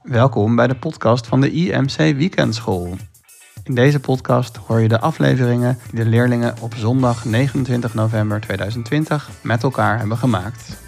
Welkom bij de podcast van de IMC Weekendschool. In deze podcast hoor je de afleveringen die de leerlingen op zondag 29 november 2020 met elkaar hebben gemaakt.